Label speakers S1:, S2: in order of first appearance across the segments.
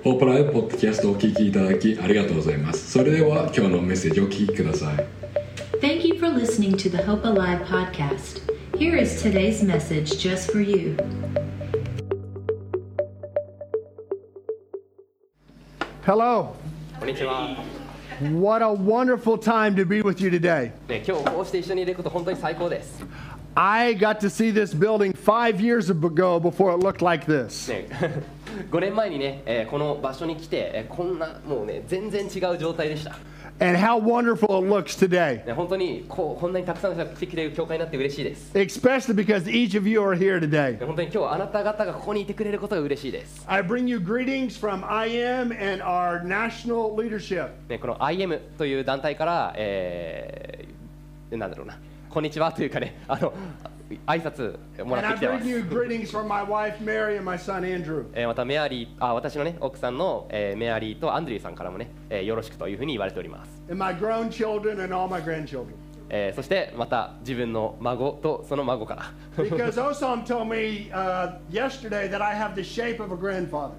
S1: ホープライブポッドキャストをお聞きいただきありがとうございます。それでは今日のメッセージをお聞きください。
S2: Thank you for listening to the Hope Alive podcast. Here is today's message just for you.
S3: Hello.
S4: こんにちは。
S3: What a wonderful time to be with you today.
S4: ね、今日こうして一緒にいること本当に最高です。
S3: I got to see this building 5 years ago before it looked like this.
S4: ね、5年前にね、この場所に来て、こんなもうね全然違う状態でした。
S3: And how wonderful it looks today.
S4: ね、本当にこんなにたくさんの人が来てくれる教会になって嬉しいです。
S3: Especially because each of you are here today.
S4: ね、本当に今日あなた方がここにいてくれることが嬉しいです。
S3: I bring you greetings from IM and our national leadership.
S4: ね、この IM という団体から、なんだろうな、こんにちはというかね、挨拶もらってきてます。
S3: And I bring you greetings from my wife Mary and my son Andrew.
S4: またメアリー、私のね奥さんの、メアリーとアンドリューさんからもね、よろしくというふうに言われております。
S3: And my grown children and all my grandchildren.
S4: そしてまた自分の孫とその孫から。
S3: Because Osam told me yesterday that I have the shape of a grandfather.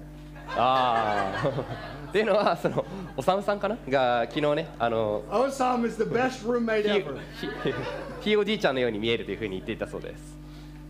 S4: っていうのはそのおさむさんかなが昨日ね
S3: Osam is the best roommate ever.
S4: ひいおじいちゃんのように見えるというふうに言っていたそうです。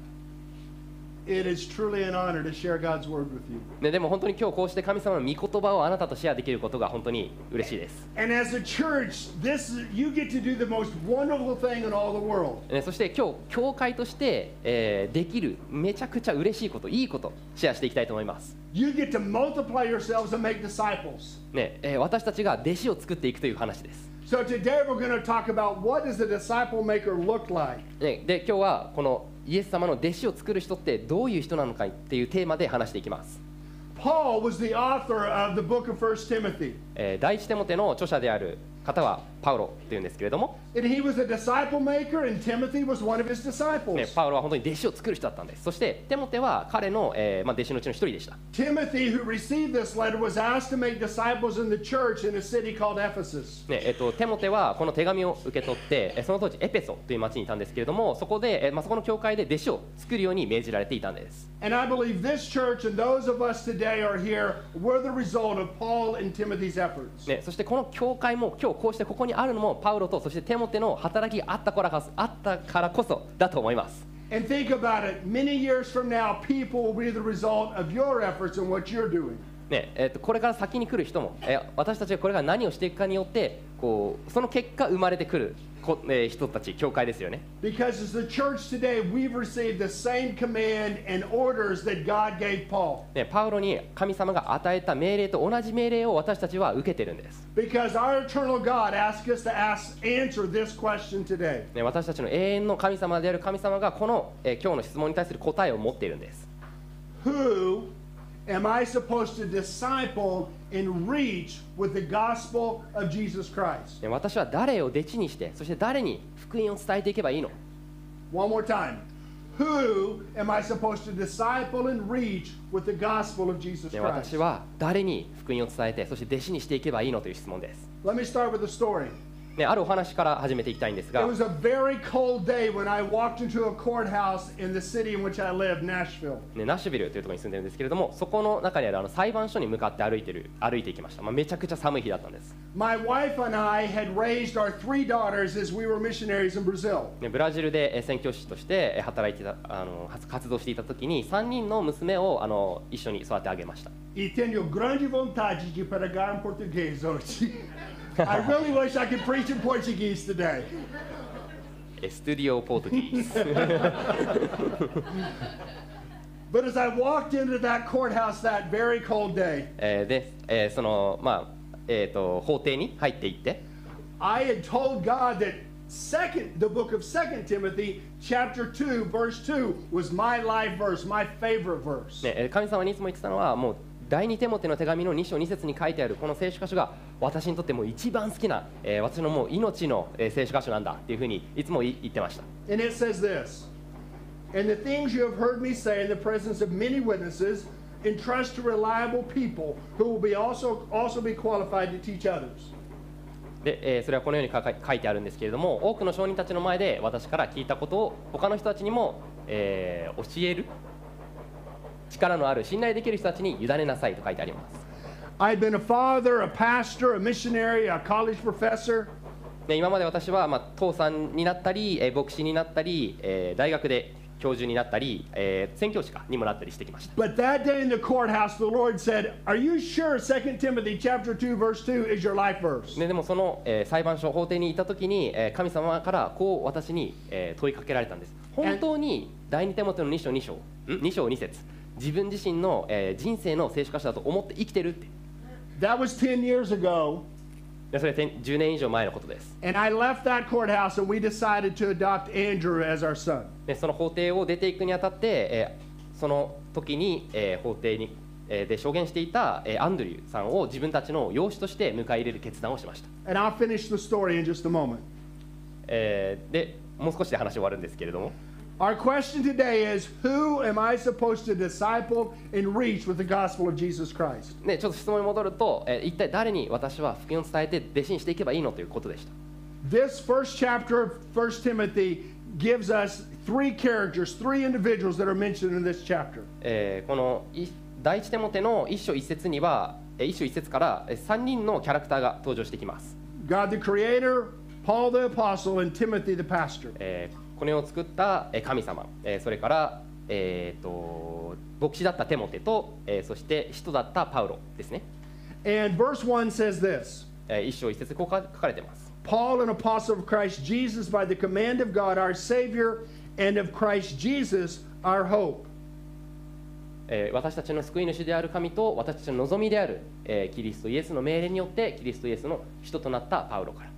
S3: It is truly an honor to share God's word with you.
S4: ね、でも本当に今日こうして神様の御言葉をあなたとシェアできることが本当に嬉しいです。
S3: And as a church, you get to do the most wonderful thing in all the world.
S4: ね、そして今日教会として、できるめちゃくちゃ嬉しいこと、いいことシェアしていきたいと思います。
S3: You get to multiply yourselves and make disciples.
S4: ね、私たちが弟子を作っていくという話です。
S3: So today we're going to talk about what does a disciple maker look like.
S4: ね、で今日はこのイエス様の弟子を作る人ってどういう人なのかっていうテーマで話していきます。
S3: Paul was the author of the book of 1 Timothy.
S4: 第一テモテの著者である方はパウロというんですけれども、
S3: And he was a disciple maker and Timothy was one of his
S4: ね、
S3: disciples.
S4: パウロは本当に弟子を作る人だったんです。そしてテモテは彼の、弟子のうちの一人でした。
S3: Timothy, who received this letter, was asked to make disciples in the church in a city called Ephesus.
S4: ね、テモテはこの手紙を受け取ってその当時エペソという町にいたんですけれども、そこで、そこの教会で弟子を作るように命じられていたんです。
S3: And I believe this church and those of us today are here were the result of Paul and Timothy's efforts.
S4: ね、そしてこの教会も今日こうしてここにあるのもパウロとそしてテモテの働きがあったからこそだと思います。
S3: And think about it, many years from now, people will be the result of your efforts and what you're doing.
S4: ね、これから先に来る人も、私たちがこれから何をしていくかによってその結果生まれてくる人たち、教会ですよね。
S3: Because as the church today, we've received the same command and orders that God gave Paul.
S4: ね、パウロに神様が与えた命令と同じ命令を私たちは受けてるんです。
S3: Because our eternal God asked us to answer this question today.
S4: ね、私たちの永遠の神様である神様がこの、今日の質問に対する答えを持っているんです。
S3: Who am I supposed to disciple and reach with the gospel of Jesus Christ?
S4: ね、私は誰を弟子にしてそして誰に福音を伝えていけばいいの？
S3: One more time. Who am I supposed to disciple and reach with the gospel of Jesus
S4: ね、
S3: Christ?
S4: 私は誰に福音を伝えてそして弟子にしていけばいいのという質問です。
S3: Let me start with a story.
S4: ね、あるお話から始めていきたいんです
S3: It
S4: が、
S3: was a very cold day when I walked into a courthouse in the city in which I live, Nashville.
S4: ね、ナッシュビルというところに住んでるんですけれども、そこの中にある裁判所に向かって歩いていきました。めちゃくちゃ寒い日だったんです。
S3: My wife and I had raised our 3 daughters as we were missionaries in Brazil.
S4: ね、ブラジルで宣教師として働いていた活動していた時に3人の娘を一緒に育て上げました。
S3: E tenho grande vontade de pregar em português hoje. I really wish I could preach in Portuguese today.
S4: スタジオポートギーズ。
S3: But as I walked into that courthouse that very cold day,
S4: で、その法廷に入っていって、
S3: I had told God that the book of 2 Timothy chapter 2 verse 2 was my life verse, my favorite verse.
S4: ね、神様にいつも言ってたのはもう第二テモテの手紙の2章2節に書いてあるこの聖書箇所が私にとってもう一番好きな、私のもう命の、聖書箇所なんだっていうふうにいつも言ってました。
S3: And it says this, and the things you have heard me say in the presence of many witnesses, entrust to reliable people who will be also be qualified to teach others.
S4: で、それはこのように書いてあるんですけれども、多くの証人たちの前で私から聞いたことを他の人たちにも、教える力のある信頼できる人たちに委ねなさいと書いてあります。
S3: I'd been a father, a pastor, a missionary, a college professor.
S4: で今まで私は、父さんになったり、牧師になったり、大学で教授になったり、宣教師にもなったりしてきました。
S3: But that day in the courthouse, the Lord said, Are you sure 2 Timothy chapter 2, verse 2 is your life verse?
S4: でもその、裁判所法廷にいた時に、神様からこう私に、問いかけられたんです。本当に第二テモテの2章2節、自分自身の、人生の聖書箇所だと思って生きてるって。
S3: That was 10 years ago.
S4: でそれ10年以上前のことです。
S3: And I left that courthouse and we decided to adopt Andrew as our son.
S4: でその法廷を出ていくにあたって、その時に、法廷に、で証言していた、アンドリューさんを自分たちの養子として迎え入れる決断をしました。
S3: And I'll finish the story in just a moment.
S4: でもう少しで話終わるんですけれども、
S3: Our question today is, who am I supposed to disciple and reach with the gospel of Jesus Christ?
S4: ね、ちょっと質問に戻ると、一体誰に私は福音を伝えて弟子にしていけばいいのということでした。
S3: This first chapter of 1 Timothy gives us three characters, three individuals that are mentioned in this chapter.
S4: この第一テモテの一章一節には、一章一節から3人のキャラクターが登場してきます。
S3: God the Creator, Paul the Apostle, and Timothy the Pastor.
S4: この世を作った神様、それから、牧師だったテモテと、そして使徒だったパウロですね。
S3: And verse 1 says this,
S4: 一章一節こう書かれています。
S3: Paul, an apostle of Christ Jesus, by the command of God our Savior, and of Christ Jesus our hope.
S4: 私たちの救い主である神と私たちの望みである、キリストイエスの命令によってキリストイエスの使徒となったパウロから。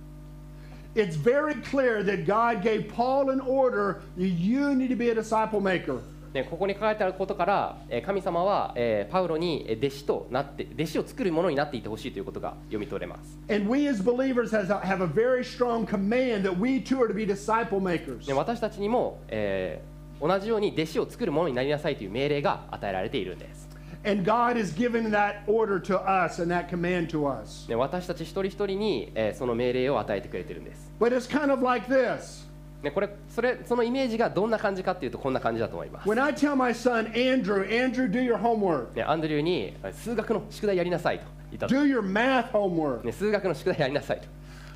S3: It's very clear that God gave Paul an order that you need to be a disciple maker.
S4: ここに書かれてあることから、神様は、パウロに弟子となって弟子を作るものになっていてほしいということが読み取れます。
S3: And we as believers have a very strong command that we too are to be disciple makers.
S4: 私たちにも、同じように弟子を作るものになりなさいという命令が与えられているんです。
S3: And God has given that order to us and that command to us.
S4: 私たち一人一人に、その命令を与えてくれているんです。
S3: But it's kind of like this.
S4: そのイメージがどんな感じかっていうとこんな感じだと思います。
S3: When I tell my son, Andrew, do your homework.
S4: アンドリューに数学の宿題やりなさいと言ったと。
S3: Do your math homework.
S4: 数学の宿題やりなさいと。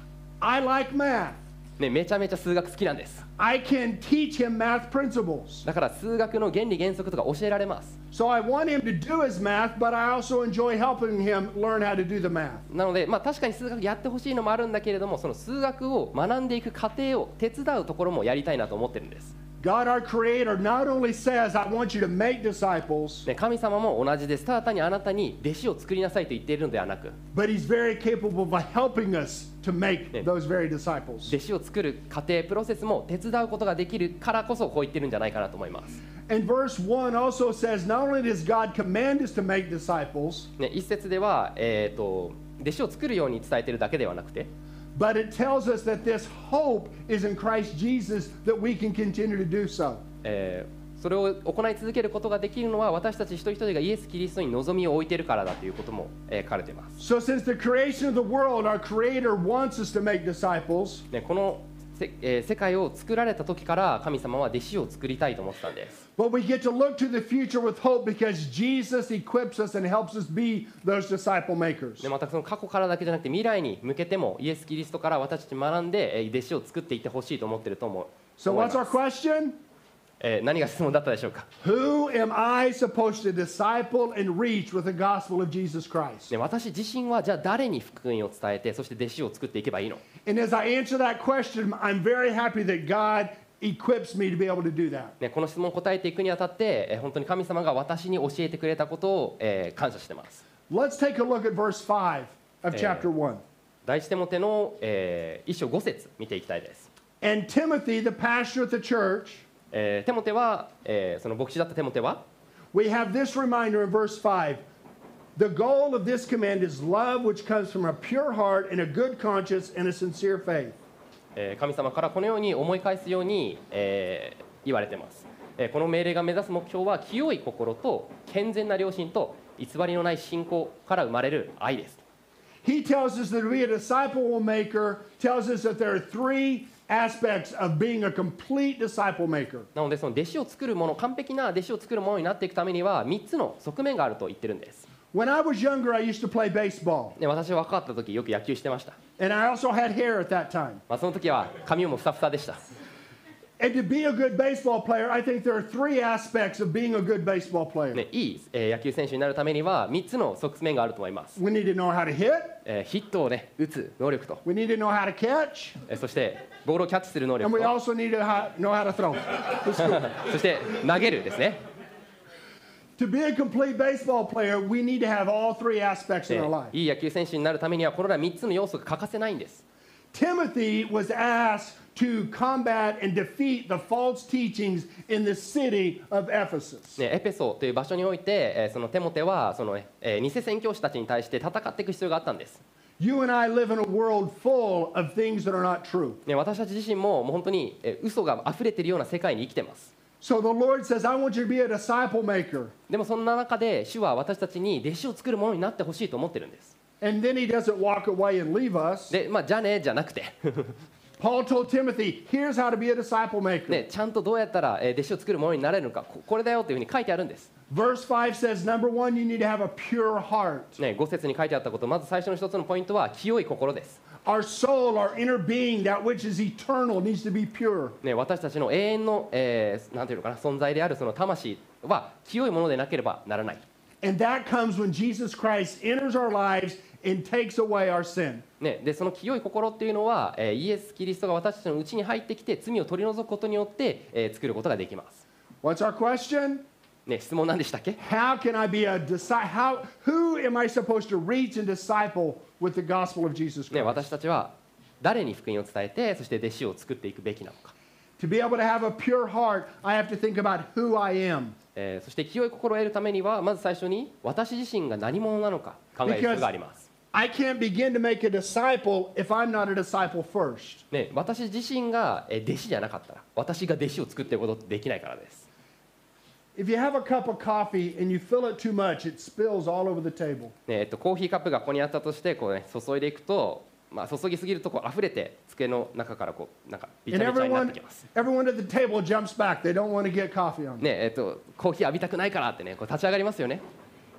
S3: I like math.
S4: めちゃめちゃ数学好きなんです。
S3: I can teach him math principles.
S4: だから数学の原理原則とか教えられます。
S3: So I want him to do his math, but I also enjoy helping him learn how to do the math.
S4: なので、確かに数学やってほしいのもあるんだけれども、その数学を学んでいく過程を手伝うところもやりたいなと思ってるんです。
S3: God, our Creator, not only says, I want you to make disciples,
S4: 神様も同じです。ただ単にあなたに弟子を作りなさいと言っているのではなく、
S3: but He's very capable of helping us to make those very disciples.
S4: 弟子を作る過程、プロセスも手伝うことができるからこそこう言ってるんじゃないかなと思います。
S3: And verse 1 also says, not only does God command us to make disciples,
S4: 一節では、弟子を作るように伝えているだけではなくて、
S3: but it tells us that this hope is in Christ Jesus that we can continue to do so.
S4: それを行い続けることができるのは私たち一人一人がイエス・キリストに望みを置いているからだということも、書かれています。
S3: So since the creation of the world, our Creator wants us to make disciples,
S4: この世界を作られた時から神様は弟子を作りたいと思ってたんです。
S3: but we get to look to the future with hope because Jesus equips us and helps us be those disciple makers.
S4: でまたその過去からだけじゃなくて未来に向けてもイエス・キリストから私たち学んで弟子を作っていってほしいと思っていると思い
S3: So
S4: ま
S3: what's
S4: す。
S3: our question?
S4: 何が質問だったでしょうか。
S3: Who am I supposed to disciple and reach with the gospel of Jesus Christ?
S4: 私自身はじゃあ誰に福音を伝えてそして弟子を作っていけばいいの。
S3: And as I answer that question, I'm very happy that God equips me to be able to do that.
S4: この質問を答えていくにあたって本当に神様が私に教えてくれたことを感謝しています。
S3: Let's take a look at verse 5 of chapter 1.
S4: 第一テモテの1章5節見ていきたいです。
S3: And Timothy, the pastor of the church,
S4: テモテは、その牧師だったテモテは、
S3: we have this reminder in verse 5. The goal of this command is love, which comes from a pure heart and a good conscience and a sincere faith.
S4: 神様からこのように思い返すように、言われています。この命令が目指す目標は清い心と健全な良心と偽りのない信仰から生まれる愛です。
S3: He tells us that to be a disciple maker tells us that there are three aspects of being a complete disciple maker.
S4: なのでその弟子を作るもの、完璧な弟子を作るものになっていくためには3つの側面があると言ってるんです。
S3: When I was younger, I used to play baseball.
S4: で私若かった時よく野球してました。
S3: And I also had hair at that time.
S4: その時は髪もふさふさでした。
S3: And to be a good baseball player, I think there are three aspects of being a good baseball player.
S4: ね、いい、野球選手になるためには3つの側面があると思います。
S3: We need to know how to hit.
S4: ヒットをね打つ能力と、
S3: We need to know how to catch.
S4: そしてボールをキャッチする能
S3: And
S4: 力
S3: we
S4: と、
S3: also need to know how to throw.
S4: そして投げるですね。
S3: To be a complete baseball player, we need to have all three aspects in our
S4: で
S3: life.
S4: いい野球選手になるためにはこれら3つの要素が欠かせないんです。
S3: Timothy was asked to combat and defeat the false teachings in the city of Ephesus.
S4: ね、エペソという場所において、そのテモテはその、ね偽宣教師たちに対して戦っていく必要があったんです。
S3: You and I live in a world full of things that are not true.
S4: ね、私たち自身ももう本当に嘘が溢れているような世界に生きてます。
S3: So the Lord says, I want you to be a disciple maker.
S4: でもそんな中で主は私たちに弟子を作るものになってほしいと思ってるんです。
S3: And then he doesn't walk away and leave us.
S4: で、じゃあねじゃなくて、
S3: Paul told Timothy, here's how to be a disciple maker.
S4: ね、ちゃんとどうやったら弟子を作るものになれるのか、これだよというふうに書いてあるんです。
S3: Verse 5 says, number one, you need to have a pure heart.
S4: ね、5節に書いてあったこと、まず最初の一つのポイントは清い心です。
S3: Our soul, our inner being, that which is eternal, needs to be pure.
S4: ね、私たちの永遠の、なんていうのかな、存在であるその魂は清いものでなければならない。
S3: And that comes when Jesus Christ enters our lives and takes away our sin.
S4: ね、でその清い心っていうのは、イエス・キリストが私たちのうちに入ってきて罪を取り除くことによって、作ることができます。
S3: What's our question?
S4: ね、質問何でしたっけ？
S3: How can I be a disciple? Who am I supposed to reach and disciple with the gospel of Jesus
S4: ね、
S3: Christ?
S4: 私たちは誰に福音を伝えて、そして弟子を作っていくべきなのか。
S3: To be able to have a pure heart, I have to think about who I am.
S4: そして清い心を得るためにはまず最初に私自身が何者なのか考える必要があります。
S3: I can't begin to make a disciple if I'm not a disciple first.
S4: ね、私自身が弟子じゃなかったら私が弟子を作っていくことってできないからです。
S3: If you have a cup of coffee and you fill it too much, it spills all over the table.
S4: ね、コーヒーカップがここにあったとしてこう、ね、注いでいくと、注ぎすぎるとこう溢れて机の中からこうなんかびち
S3: And
S4: ゃびちゃになってきます。
S3: everyone at the table jumps back. They don't want to get coffee on.
S4: ね、コーヒー浴びたくないからってねこう立ち上がりますよね。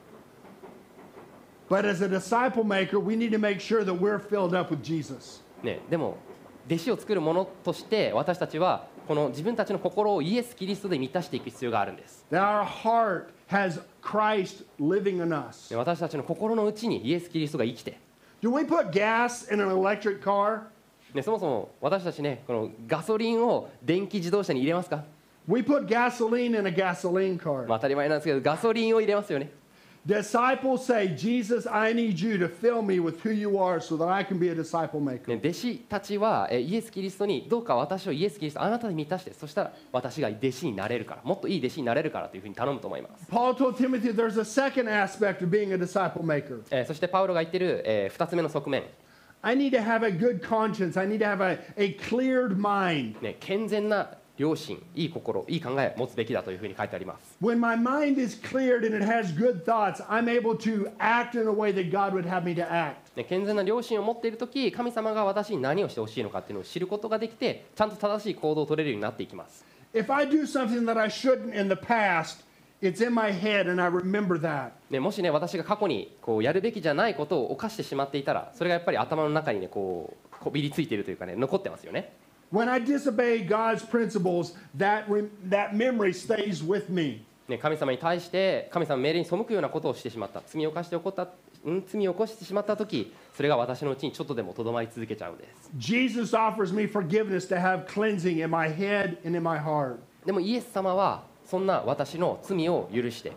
S3: But as a disciple maker, we need to make sure that we're filled up with Jesus.
S4: ね、でも弟子を作るものとして私たちはこの自分たちの心をイエス・キリストで満たしていく必要があるんです。
S3: That our heart has Christ living in us.
S4: ね、私たちの心の内にイエス・キリストが生きて、
S3: Do we put gas in an electric car?
S4: ね、そもそも私たちねこのガソリンを電気自動車に入れますか？
S3: We put gasoline in a gasoline
S4: 当
S3: car.
S4: たり前なんですけどガソリンを入れますよね。
S3: Disciples say, Jesus, I need you to fill me with who you are so that I can be a disciple maker.
S4: ね、弟子たちはイエス・キリストにどうか私をイエス・キリストあなたに満たして、そしたら私が弟子になれるから、もっといい弟子になれるからというふうに頼むと思います。
S3: Paul told Timothy there's a second aspect of being a disciple maker.
S4: そしてパウロが言ってる、2つ目の側面、
S3: I need to have a good conscience. I need to have a cleared mind.
S4: ね、健全な良心、いい心、いい考えを持つべきだというふうに書いてあります。
S3: When my mind is cleared and it has good thoughts, I'm able to act in a way that God would have me to act.
S4: ね、健全な良心を持っているとき、神様が私に何をしてほしいのかっていうのを知ることができて、ちゃんと正しい行動を取れるようになっていきます。
S3: If I do something that I shouldn't in the past, it's in my head and I remember that.
S4: ね、もしね、私が過去にこうやるべきじゃないことを犯してしまっていたら、それがやっぱり頭の中にね、こびりついているというかね、残ってますよね。
S3: When I disobey God's principles, that memory stays with me.
S4: ね、神様に対して神様の命令に背くようなことをしてしまった、罪を犯して罪を起こしてしまったとき、それが私のうちにちょっとでもとどまり続けちゃうんです。
S3: Jesus offers me forgiveness to have cleansing in my head and in my heart.
S4: でもイエス様はそんな私の罪を許して、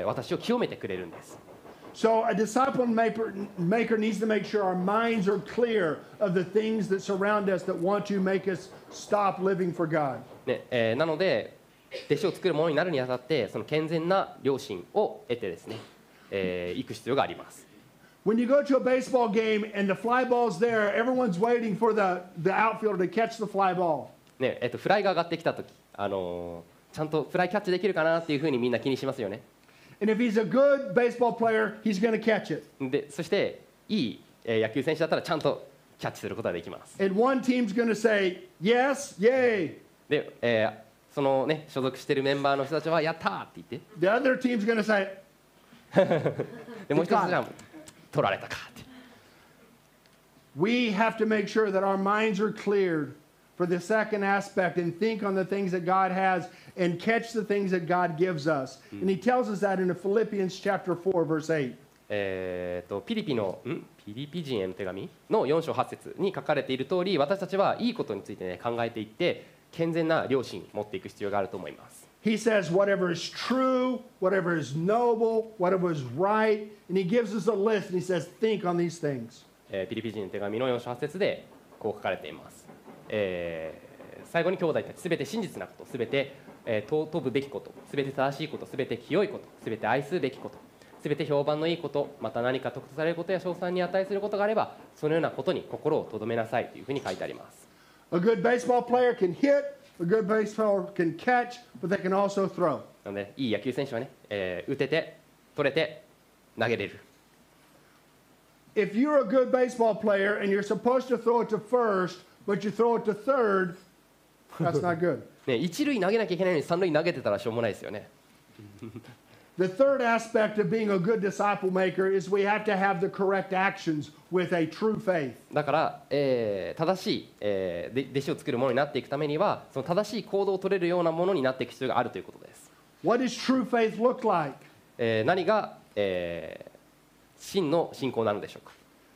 S4: 私を清めてくれるんです。
S3: So a disciple maker needs to make sure our minds are clear of the things that surround us that want to make us stop living for God.
S4: ね、なので弟子を作るものになるにあたってその健全な良心を得てですね、行く必要があります。
S3: When you go to a baseball game and the fly ball's there, everyone's waiting for the outfielder to catch the fly ball.
S4: ね、フライが上がってきたとき、ちゃんとフライキャッチできるかなっていうふうにみんな気にしますよね。
S3: And if he's a good baseball player, he's going to catch it.
S4: でそしていい、野球選手だったらちゃんとキャッチすることができます。
S3: And one team's going to say, yes, yay.
S4: で、そのね所属しているメンバーの人たちはやったーって言って、
S3: The other team's going to say,
S4: でもう一つじゃ取られたかって。
S3: We have to make sure that our minds are cleared for the second aspect and think on the things that God has and catch the things that God gives us. And he tells us that in Philippians chapter 4, verse 8.
S4: ピリピ人への手紙の4章8節に書かれている通り、私たちはいいことについて、ね、考えていって健全な良心を持っていく必要があると思います。
S3: He says whatever is true, whatever is noble, whatever is right, and he gives us a list and he says think on these things.
S4: ピリピ人の手紙の4章8節でこう書かれています。最後に兄弟たちすべて真実なこと、すべて尊ぶべきこと、すべて正しいこと、すべて清いこと、すべて愛すべきこと、すべて評判のいいこと、また何か得とされることや称賛に値することがあれば、そのようなことに心を留めなさいというふうに書いてあります。
S3: A good baseball player can hit, a good baseball can catch, but they can also throw.
S4: なのでいい野球選手はね、打てて、取れて、投げれる。
S3: If you're a good baseball player and you're supposed to throw it to first, but you throw it to third, that's not good.
S4: ね、一塁投げなきゃいけないのに三塁投げてたらしょうもないですよね。
S3: The third aspect of being a good disciple maker is we have to have the correct actions with a true faith.
S4: だから、正しい、弟子を作るものになっていくためには、その正しい行動を取れるようなものになっていく必要があるということです。
S3: What does true faith look like?
S4: 何が、真の信仰なのでしょうか。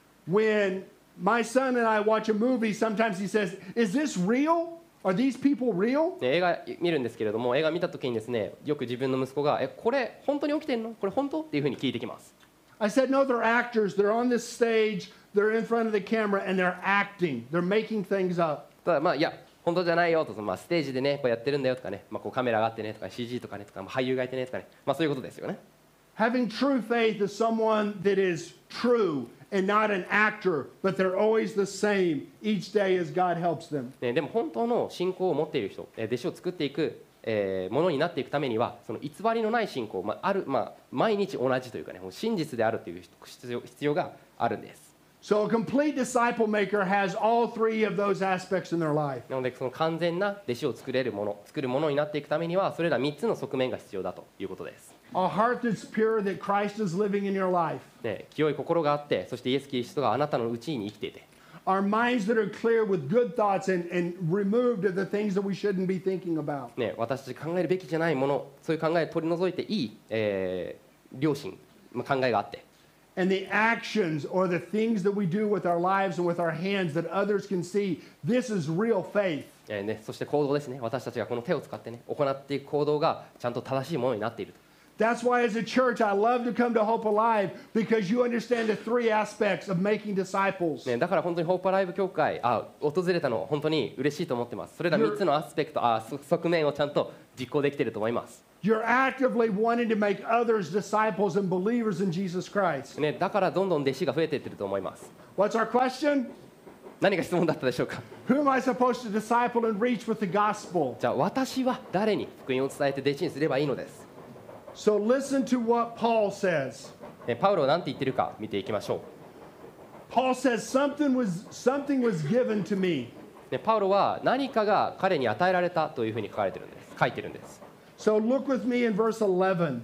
S3: When my son and I watch a movie, sometimes he says, "Is this real? Are these people real?"
S4: 映画見るんですけれども、映画見たときにですね、よく自分の息子がこれ本当に起きてんの？これ本当？っていうふうに聞いてきます。
S3: I said, "No, they're actors. They're on this stage. They're in front of the camera and they're acting. They're making things up."
S4: ただいや本当じゃないよと、ステージでねこうやってるんだよとかね、こうカメラがあってねとか CG とかねとか、俳優がいてねとかね、そういうことですよね。
S3: Having true faith is someone that is true and not an actor, but they're always the same each day as God helps them.
S4: でも本当の信仰を持っている人、弟子を作っていく、ものになっていくためには、その偽りのない信仰、毎日同じというかね、もう真実であるという必要があるんです。
S3: So a complete disciple maker has all three of those aspects in their life.
S4: なのでその完全な弟子を作るものになっていくためには、それら3つの側面が必要だということです。
S3: A heart that's pure, that Christ is living in your life.
S4: 清い心があって、そしてイエス・キリストがあなたのうちに生きていて。
S3: Our minds that are clear with good thoughts and removed of the things that we shouldn't be thinking about.
S4: 私たち考えるべきじゃないもの、そういう考えを取り除いていい、良心、考えがあって。
S3: And the actions or the things that we do with our lives and with our hands that others can see, this is real faith.
S4: そして行動ですね。私たちがこの手を使ってね、行っていく行動がちゃんと正しいものになっていると。
S3: That's why as a church I love to come to Hope Alive because you understand the three aspects of making disciples.
S4: だから本当にホープアライブ教会訪れたの本当に嬉しいと思ってます。それら3つのアスペクト側面をちゃんと実行できていると思います。
S3: You're actively wanting to make others disciples and believers in Jesus Christ.
S4: だからどんどん弟子が増えていってると思います。
S3: What's our question?
S4: 何が質問だったでしょうか。
S3: Who am I supposed to disciple and reach with the gospel?
S4: じゃあ私は誰に福音を伝えて弟子にすればいいのです。
S3: So listen to what Paul says.
S4: パウロは何て言ってるか見ていきましょう。
S3: Paul says something was given to me.
S4: パウロは何かが彼に与えられたというふうに書いてるんです。
S3: So look with me in verse 11.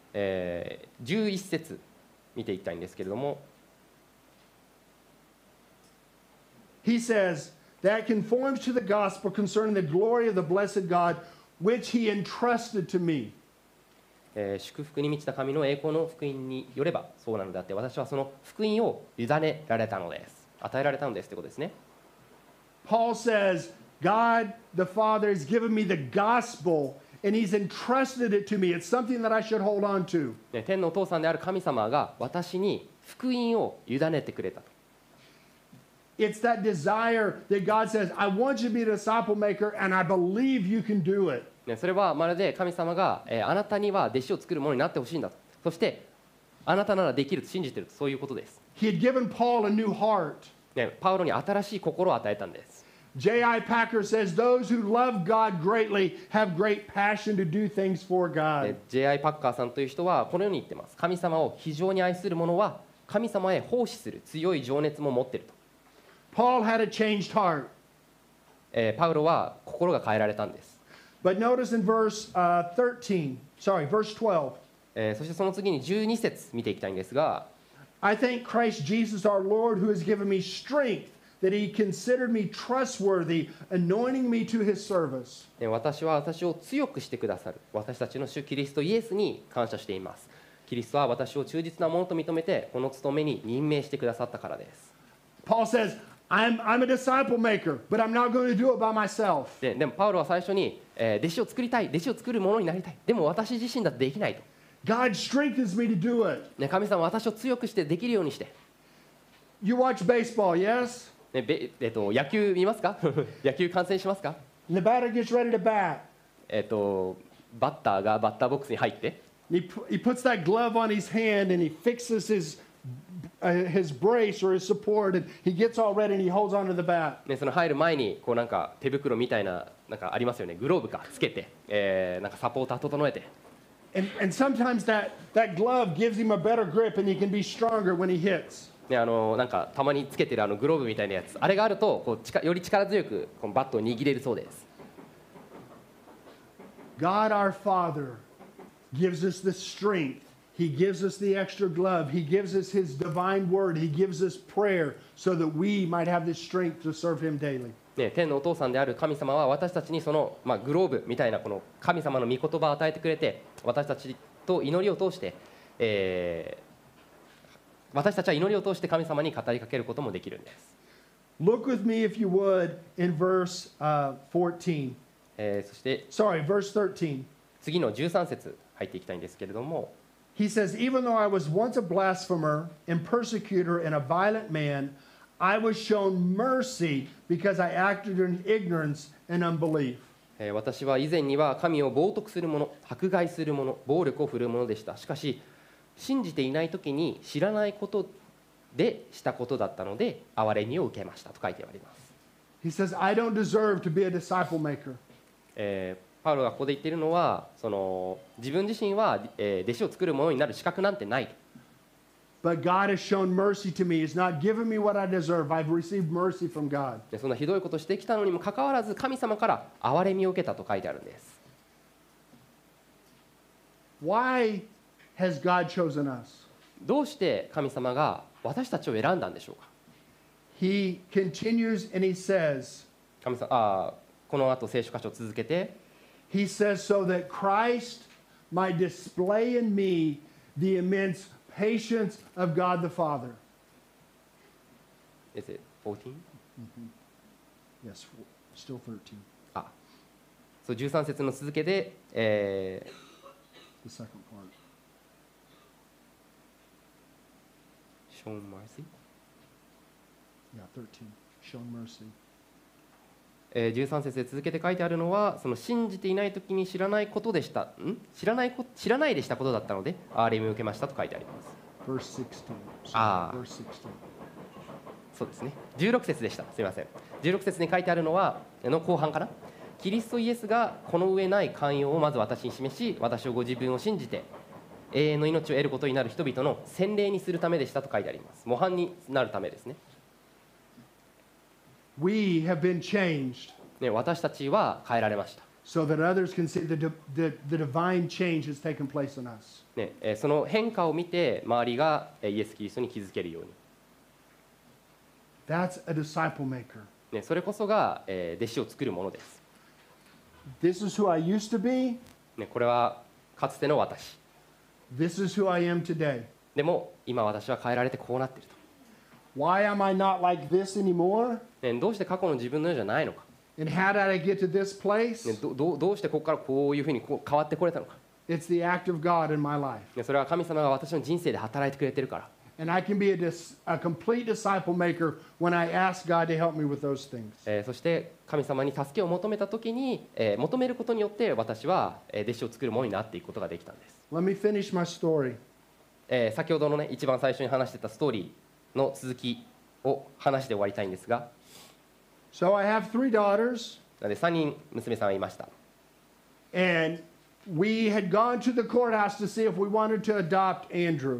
S4: 11節見ていきたいんですけれども、
S3: He says, that conforms to the gospel concerning the glory of the blessed God, which he entrusted to me.
S4: 祝福に満ちた神の栄光の福音によればそうなのであって、私はその福音を委ねられたのです。与えられたのですということですね。
S3: Paul says, God the Father has given me the gospel and he's entrusted it to me. It's something that I should hold on to.
S4: 天のお父さんである神様が私に福音を委ねてくれたと。
S3: It's that desire that God says, I want you to be a disciple maker and I believe you can do it.
S4: それはまるで神様が、あなたには弟子を作るものになってほしいんだと。そしてあなたならできると信じていると、そういうことです。
S3: He had given Paul a new heart.
S4: パウロに新しい心を与えたんです。
S3: J.I. Packer says, those who love God greatly have great passion to do things for God.
S4: J.I. パッカーさんという人はこのように言ってます。神様を非常に愛する者は神様へ奉仕する強い情熱も持っていると。
S3: Paul had a changed heart.
S4: パウロは心が変えられたんです。
S3: But notice in verse 12.
S4: そしてその次に12節見ていきたいんですが、
S3: I thank Christ Jesus our Lord who has given me strength, that he considered me trustworthy, anointing me to his service.
S4: 私は私を強くしてくださる私たちの主キリストイエスに感謝しています。キリストは私を忠実なものと認めてこの務めに任命してくださったからです。
S3: Paul says, I'm a disciple maker, but I'm not going to do it by myself.
S4: でもパウロは最初に、弟子を作りたい、弟子を作るものになりたい、でも私自身だってできないと、
S3: God strengthens me to do it.
S4: 神様は私を強くしてできるようにして。
S3: You watch baseball, yes?
S4: 野球見ますか野球観戦しますか？
S3: And the batter gets ready to bat.
S4: バッターがバッターボックスに入って、
S3: He puts that glove on his hand and he fixes his brace or his support, and he gets all ready and he holds onto the bat.
S4: その入る前にこうなんか手袋みたいななんかありますよね、グローブかつけて、なんかサポーター整えて、
S3: And sometimes that glove gives him a better grip and he can be stronger when he hits.
S4: なんかたまにつけてるグローブみたいなやつ、あれがあるとこうより力強くこのバットを握れるそうです。
S3: God our Father gives us the strength. He gives us the extra glove. He gives us his divine word. He gives us prayer so that we might have the strength to serve him daily.
S4: 天のお父さんである神様は私たちにその、グローブみたいなこの神様の御言葉を与えてくれて、私たちと祈りを通して、私たちは祈りを通して神様に語りかけることもできるんです。
S3: Look with me, if you would, in verse 14.
S4: そして
S3: Sorry, verse 13.
S4: 次の13節入っていきたいんですけれども、
S3: He says, Even though I was once a blasphemer and persecutor and a violent man, I was shown mercy because I acted in ignorance and unbelief.
S4: 私は以前には神を冒涜する者、迫害する者、暴力を振るう者でした。しかし信じていない時に知らないことでしたことだったので憐れみを受けましたと書いてあります。
S3: He says, I don't deserve to be a disciple maker.
S4: パウロがここで言っているのは、その自分自身は、弟子を作る者になる資格なんてないと。
S3: But God has shown mercy to me. He's not given me what I deserve. I've received mercy from God.
S4: でそんなひどいことをしてきたのにもかかわらず神様から憐れみを受けたと書いてあるんです。
S3: Why has God chosen us?
S4: どうして神様が私たちを選んだんでしょうか。
S3: He continues and he says,
S4: 神様この後聖書箇所を続けて、
S3: He says, so that Christ might display in me the immense patience of God the Father.
S4: Is it 14?
S3: Yes, still 13.
S4: そう13節の続けで、
S3: The second part.
S4: Shown mercy?
S3: Yeah, 13. Shown mercy.
S4: 13節で続けて書いてあるのは、その信じていない時に知らないことでした知らないでしたことだったので憐れみを受けましたと書いてあります。
S3: Verse 16. Verse 16.
S4: そうですね、16節でした。すみません。16節に書いてあるのはの後半かな。キリストイエスがこの上ない寛容をまず私に示し、私をご自分を信じて永遠の命を得ることになる人々の洗礼にするためでしたと書いてあります。模範になるためですね。
S3: We have been changed
S4: 私たちは変えられました。
S3: so that others can see the divine change has taken place in us.
S4: その変化を見て周りがイエス・キリストに気づけるように。
S3: That's a disciple maker.
S4: それこそが弟子を作るものです。
S3: This is who I used to be.
S4: これはかつての私。
S3: This is who I am today.
S4: でも今私は変えられてこうなっていると。
S3: Why am I not like this anymore?
S4: どうして過去の自分のようじゃないのか。
S3: And how did I get to this place?
S4: どうしてここからこういうふうに変わってこれたのか。
S3: It's the act of God in my life.
S4: それは神様が私の人生で働いてくれてるから。
S3: And I can be a complete disciple maker when I ask God to help me with those things.
S4: そして神様に助けを求めたときに、求めることによって私は弟子を作るものになっていくことができたんです。
S3: Let me finish my story.
S4: 先ほどのね一番最初に話してたストーリーの続きを話して終わりたいんですが、
S3: So I have 3 daughters.
S4: なので3人娘さんがいました。
S3: And we had gone to the courthouse to see if we wanted to adopt Andrew.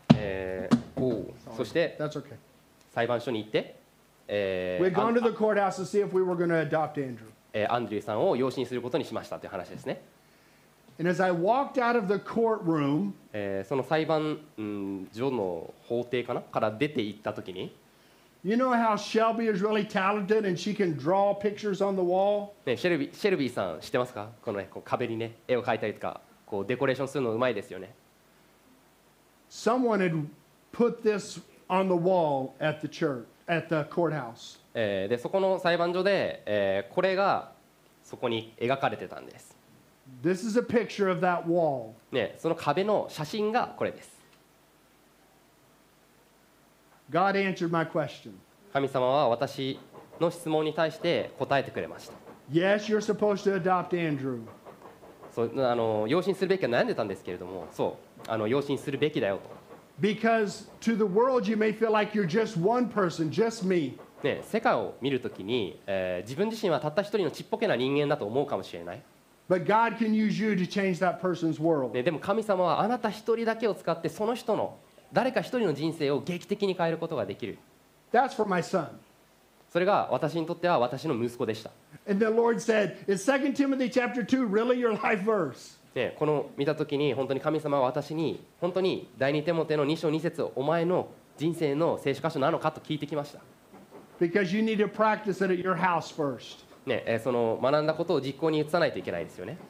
S4: そして
S3: That's okay.
S4: 裁判所に行って、
S3: We had gone to the courthouse to see if we were going to adopt Andrew.
S4: アンドリューさんを養子にすることにしましたという話ですね。
S3: And as I walked out of the courtroom,
S4: その裁判所の法廷から出て行った時に、
S3: you know how Shelby is really talented and she can draw pictures on the wall?
S4: ね、シェルビーさん知ってますか？この、ね、こう壁にね絵を描いたりとかこうデコレーションするのうまいですよね。
S3: Someone had put this on the wall at the church, at the courthouse.
S4: でそこの裁判所で、これがそこに描かれてたんです。
S3: This is a picture of that wall.
S4: ね、その壁の写真がこれです。
S3: God answered my question.
S4: 神様は私の質問に対して答えてくれました。
S3: Yes, you're supposed to adopt Andrew.
S4: そう養子にするべきか悩んでたんですけれども、そう養子にするべきだよと。
S3: Because to the world you may feel like you're just one person, just me.
S4: ね、世界を見るときに、自分自身はたった一人のちっぽけな人間だと思うかもしれない。
S3: But God can use you to change that person's world.
S4: ね、でも神様はあなた一人だけを使ってその人の誰か一人の人生を劇的に変えることができる。
S3: That's for my son.
S4: それが私にとっては私の息子でした。
S3: And the Lord said, is 2 Timothy chapter 2 really your life verse?
S4: ね、この見たときに本当に神様は私に本当に第二テモテの2章2節お前の人生の聖書箇所なのかと聞いてきました。
S3: Because you need to practice it at your house first.
S4: ね、その学んだことを実行に移さないといけないですよね。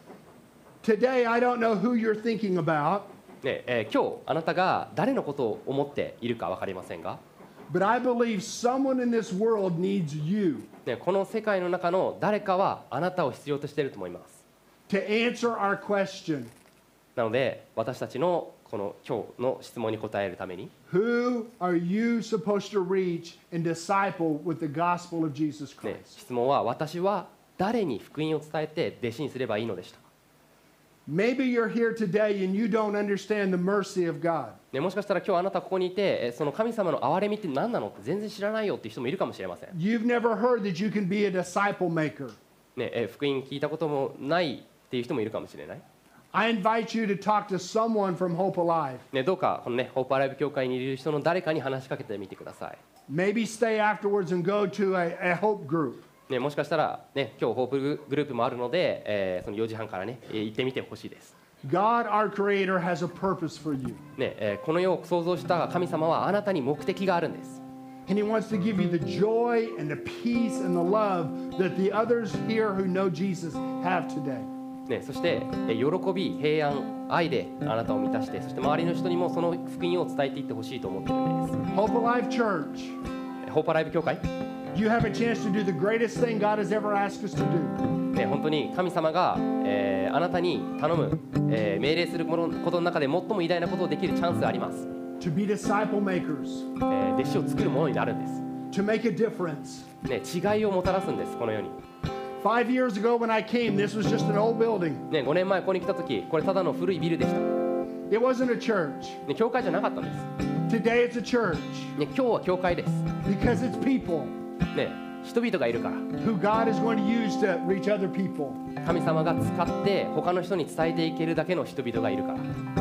S3: Today, I don't know who you're thinking about,
S4: ね、今日あなたが誰のことを思っているか分かりませんが、
S3: but I believe someone in this world needs you
S4: ね、この世界の中の誰かはあなたを必要としていると思います。
S3: to answer our question.
S4: なので私たちのこの今日の質問に答えるために、
S3: Who are you supposed to reach and disciple with the gospel of Jesus
S4: ね、
S3: Christ?
S4: 質問は私は誰に福音を伝えて弟子にすればいいのでしたか。
S3: Maybe you're here today and you don't understand the mercy of God.
S4: ね、もしかしたら今日あなたここにいてその神様の憐れみって何なのって全然知らないよっていう人もいるかもしれません。
S3: You've never heard that you can be a disciple maker.
S4: ね、福音聞いたこともないっていう人もいるかもしれない。
S3: I invite you to talk to someone from Hope Alive.
S4: ね、どうかこのねホープアライブ教会にいる人の誰かに話しかけてみてください。
S3: Maybe stay afterwards and go to a Hope group.
S4: ね、もしかしたら、ね、今日ホープグループもあるので、その4時半からね、行ってみてほしいです。
S3: God, our Creator, has a purpose for you.
S4: ね、この世を創造した神様はあなたに目的があるんです。
S3: And He wants to give you the joy and the peace and the love that the others here who know Jesus have today.
S4: ね、そして、喜び、平安、愛であなたを満たして、そして周りの人にもその福音を伝えていってほしいと思っているんです。
S3: Hope Alive Church,
S4: ホープアライブ教会、
S3: you have a chance to do the greatest thing God has ever asked us to do.
S4: ね、本当に神様が、あなたに頼む、命令することの中で最も偉大なことをできるチャンスがあります。
S3: To be disciple makers,
S4: 弟子を作るものになるんです。
S3: to make a difference.
S4: ね、違いをもたらすんです、この世に。
S3: 5 years ago when I came, this was just an old building.
S4: ね、5年前ここに来た時、これただの古いビルでした。ね、
S3: It wasn't a church.
S4: 教会じゃなかったんです。
S3: Today it's a church
S4: ね、今日は教会です。
S3: because it's people
S4: ね、人々がいるから。
S3: who God is going to use to reach other people.
S4: 神様が使って他の人に伝えていけるだけの人々がいるから。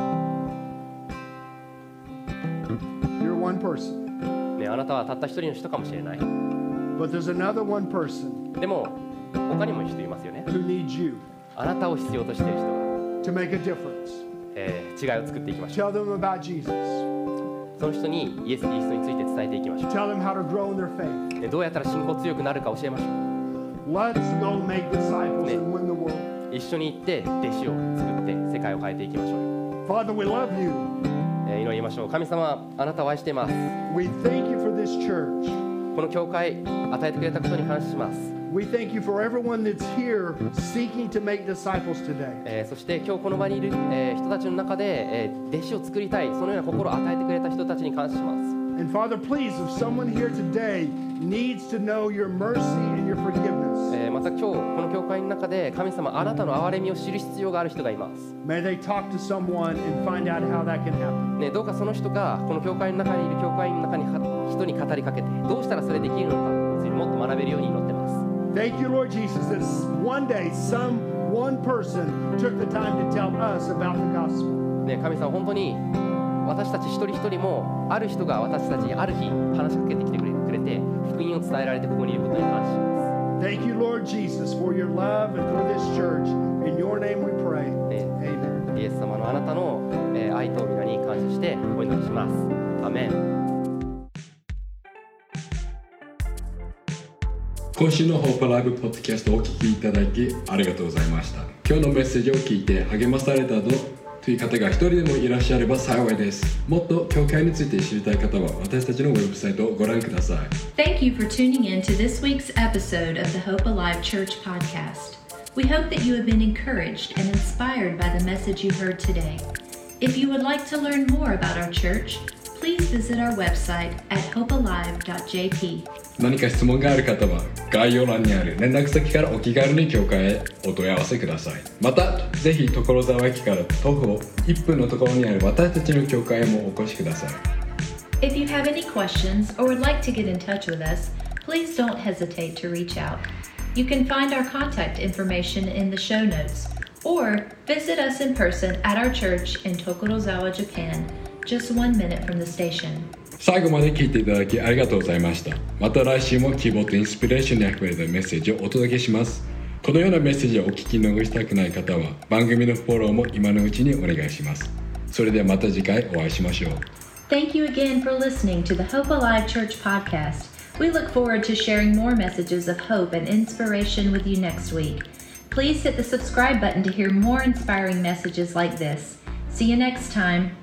S3: You're one person,
S4: ね、あなたはたった一人の人かもしれない。
S3: but there's another one person
S4: でも他にも人いますよね。
S3: who needs you
S4: あなたを必要としている人が、
S3: to make a difference.
S4: 違いを作っていきましょう。
S3: Tell them about Jesus.
S4: その人にイエス・キリストについて伝えていきましょ
S3: Tell them how to grow in their faith.
S4: う。ね、どうやったら信仰強くなるか教えましょ
S3: Let's go make disciples
S4: Ne.
S3: and win the world.
S4: う。一緒に行って弟子を作って世界を変えていきましょう。
S3: Father, we love you.
S4: 祈りましょう。神様、あなたを愛しています。
S3: We thank you for this church.
S4: この教会与えてくれたことに感謝します。
S3: We thank you for everyone that's here seeking to make disciples today.
S4: そして今日この場にいる、人たちの中で、弟子を作りたい、そのような心を与えてくれた人たちに感謝します。
S3: And Father, please, if someone here today needs to know your mercy and your forgiveness,
S4: また今日この教会の中で神様あなたの憐れみを知る必要がある人がいます、
S3: may they talk to someone and find out how that can happen.
S4: ね、どうかその人がこの教会の中にいる教会の中に人に語りかけてどうしたらそれできるのかについてもっと学べるように祈ってます。
S3: Thank you, Lord Jesus, that one day one person took the time to tell us about the gospel.
S4: ね、神様本当に私たち一人一人もある人が私たちにある日話しかけてきてくれて福音を伝えられてここにいることに感謝します。
S3: Thank you, Lord Jesus, for your love and for this church. In your name we pray. Amen.
S4: イエス様のあなたの愛と皆に感謝してお祈りします。アメン。
S1: 今週のホープライブポッドキャストをお聞きいただきありがとうございました。今日のメッセージを聞いて励まされたという方が一人でもいらっしゃれば幸いです。もっと教会について知りたい方は私たちのウェブサイトをご覧ください。
S2: Thank you for tuning in to this week's episode of the Hope Alive Church podcast. We hope that you have been encouraged and inspired by the message you heard today. If you would like to learn more about our church, please visit our website at hopealive.jp.
S1: 何か質問がある方は概要欄にある連絡先からお気軽に教会へお問い合わせください。またぜひ所沢駅から徒歩1分のところにある私たちの教会へもお越しください。
S2: If you have any questions or would like to get in touch with us, please don't hesitate to reach out. You can find our contact information in the show notes or visit us in person at our church in Tokorozawa, Japan, just 1 minute from the station.
S1: 最後まで聞いていただきありがとうございました。また来週も希望とインスピレーションにあふれたメッセージをお届けします。このようなメッセージをお聞き逃したくない方は番組のフォローも今のうちにお願いします。それではまた次回お会いしましょう。
S2: Thank you again for listening to the Hope Alive Church podcast. We look forward to sharing more messages of hope and inspiration with you next week. Please hit the subscribe button to hear more inspiring messages like this. See you next time.